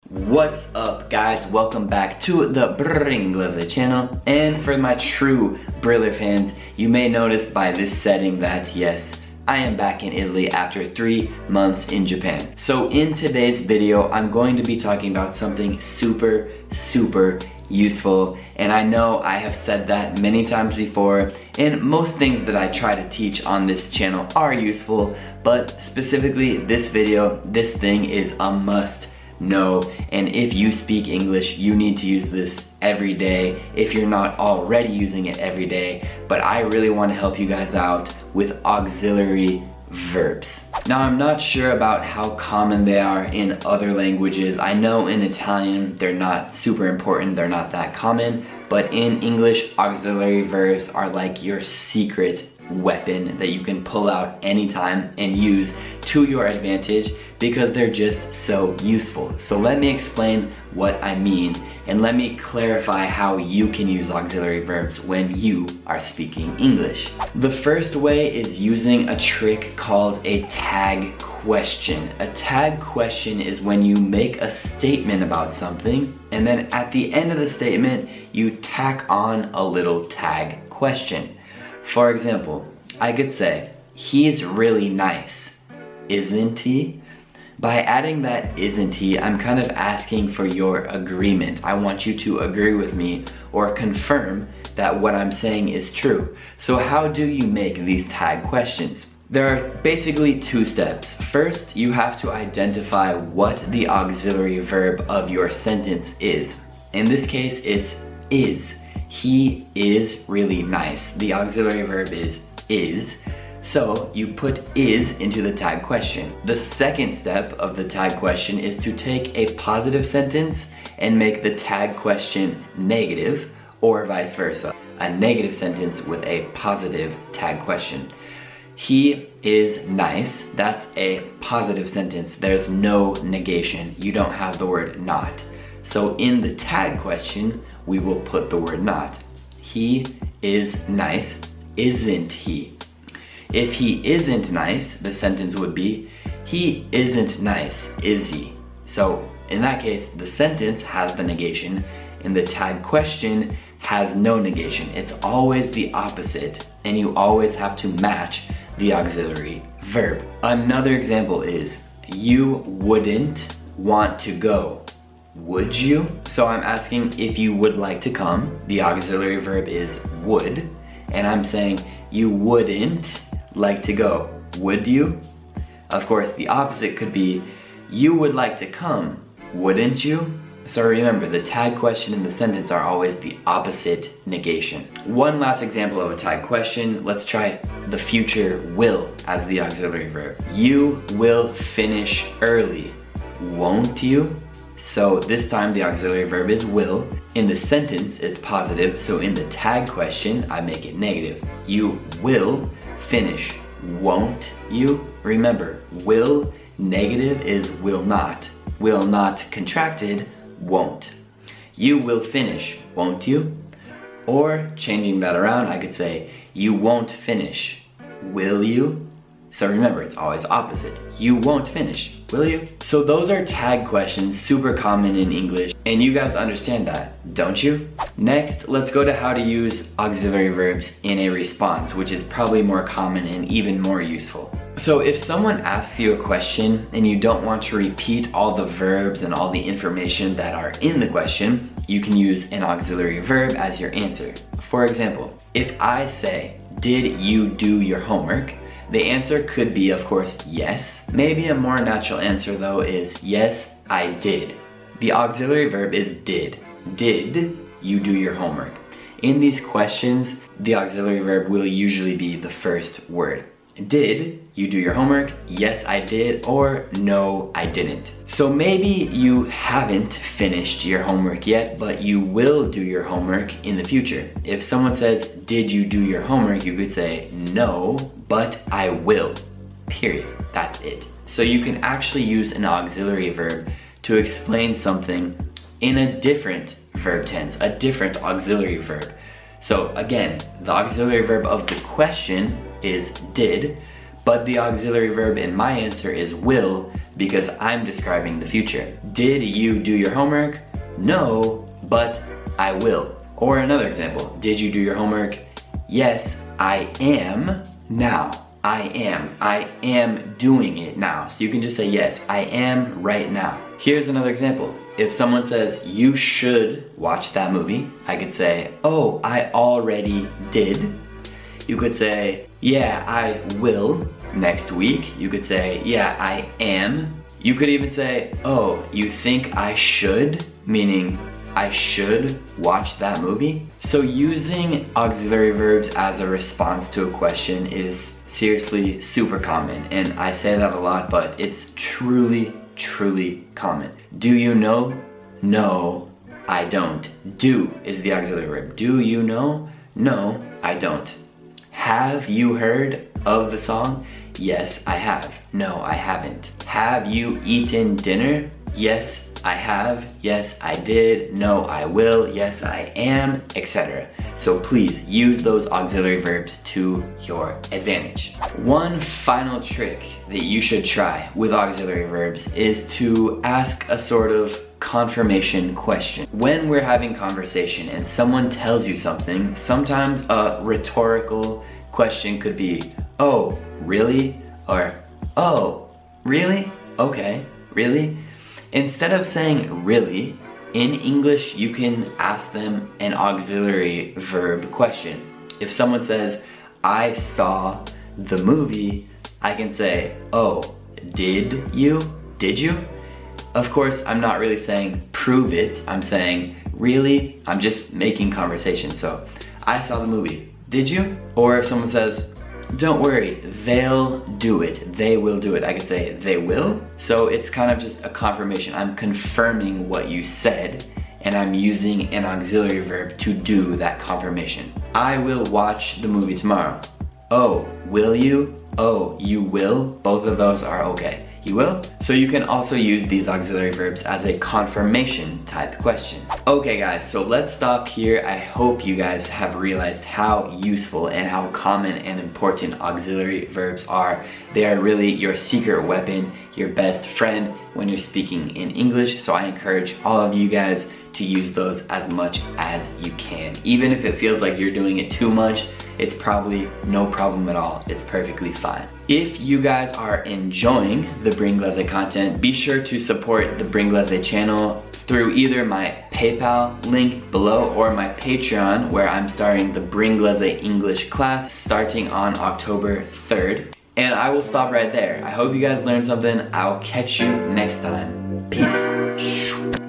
What's up guys, welcome back to the Bringlese channel, and for my true Briller fans, you may notice by this setting that yes, I am back in Italy after 3 months in Japan. So in today's video, I'm going to be talking about something super useful, and I know I have said that many times before, and most things that I try to teach on this channel are useful, but specifically this video, this thing is a must know, and if you speak English, you need to use this every day if you're not already using it every day. But I really want to help you guys out with auxiliary verbs. Now, I'm not sure about how common they are in other languages. I know in Italian they're not super important, they're not that common, but in English, auxiliary verbs are like your secret weapon that you can pull out anytime and use to your advantage because they're just so useful. So let me explain what I mean, and let me clarify how you can use auxiliary verbs when you are speaking English. The first way is using a trick called a tag question. A tag question is when you make a statement about something, and then at the end of the statement, you tack on a little tag question. For example, I could say, "He's really nice, isn't he?" By adding that "isn't he," I'm kind of asking for your agreement. I want you to agree with me or confirm that what I'm saying is true. So how do you make these tag questions? There are basically 2 steps. First, you have to identify what the auxiliary verb of your sentence is. In this case, it's is. He is really nice. The auxiliary verb is. So you put is into the tag question. The second step of the tag question is to take a positive sentence and make the tag question negative, or vice versa. A negative sentence with a positive tag question. He is nice, that's a positive sentence. There's no negation. You don't have the word not. So in the tag question, we will put the word not. He is nice, isn't he? If he isn't nice, the sentence would be, he isn't nice, is he? So in that case, the sentence has the negation, and the tag question has no negation. It's always the opposite, and you always have to match the auxiliary verb. Another example is, you wouldn't want to go, would you? So I'm asking if you would like to come. The auxiliary verb is would, and I'm saying you wouldn't like to go, would you? Of course, the opposite could be, you would like to come, wouldn't you? So remember, the tag question and the sentence are always the opposite negation. One last example of a tag question. Let's try the future will as the auxiliary verb. You will finish early, won't you? So this time the auxiliary verb is will. In the sentence, it's positive, so in the tag question, I make it negative. You will finish, won't you? Remember, will negative is will not. Will not contracted, won't. You will finish, won't you? Or changing that around, I could say, you won't finish, will you? So remember, it's always opposite. You won't finish, will you? So those are tag questions, super common in English, and you guys understand that, don't you? Next, let's go to how to use auxiliary verbs in a response, which is probably more common and even more useful. So if someone asks you a question and you don't want to repeat all the verbs and all the information that are in the question, you can use an auxiliary verb as your answer. For example, if I say, "Did you do your homework?" the answer could be, of course, yes. Maybe a more natural answer though is, yes, I did. The auxiliary verb is did. Did you do your homework? In these questions, the auxiliary verb will usually be the first word. Did you do your homework? Yes, I did, or no, I didn't. So maybe you haven't finished your homework yet, but you will do your homework in the future. If someone says, "Did you do your homework?" you could say, "No, but I will." Period. That's it. So you can actually use an auxiliary verb to explain something in a different verb tense, a different auxiliary verb. So again, the auxiliary verb of the question is did, but the auxiliary verb in my answer is will because I'm describing the future. Did you do your homework? No, but I will. Or another example, did you do your homework? Yes, I am now. I am doing it now. So you can just say yes, I am right now. Here's another example. If someone says, you should watch that movie, I could say, oh, I already did. You could say, yeah, I will next week. You could say, yeah, I am. You could even say, oh, you think I should? Meaning, I should watch that movie. So using auxiliary verbs as a response to a question is seriously super common, and I say that a lot, but it's truly common. Do you know? No, I don't. Do is the auxiliary verb. Do you know? No, I don't. Have you heard of the song? Yes, I have. No, I haven't. Have you eaten dinner? Yes, I have. Yes, I did. No, I will. Yes, I am, etc. So please use those auxiliary verbs to your advantage. One final trick that you should try with auxiliary verbs is to ask a sort of confirmation question. When we're having conversation and someone tells you something, sometimes a rhetorical question could be, oh, really? Or, oh, really? Okay, really? Instead of saying really, in English you can ask them an auxiliary verb question. If someone says, I saw the movie, I can say, oh, did you? Did you? Of course, I'm not really saying prove it, I'm saying really, I'm just making conversation. So, I saw the movie, did you? Or if someone says, don't worry, they'll do it, they will do it, I could say they will. So it's kind of just a confirmation. I'm confirming what you said and I'm using an auxiliary verb to do that confirmation. I will watch the movie tomorrow. Oh, will you? Oh, you will? Both of those are okay. You will? So you can also use these auxiliary verbs as a confirmation type question. Okay guys, so let's stop here. I hope you guys have realized how useful and how common and important auxiliary verbs are. They are really your secret weapon, your best friend when you're speaking in English. So I encourage all of you guys to use those as much as you can. Even if it feels like you're doing it too much, it's probably no problem at all. It's perfectly fine. If you guys are enjoying the Bringlese content, be sure to support the Bringlese channel through either my PayPal link below or my Patreon, where I'm starting the Bringlese English class starting on October 3rd. And I will stop right there. I hope you guys learned something. I'll catch you next time. Peace.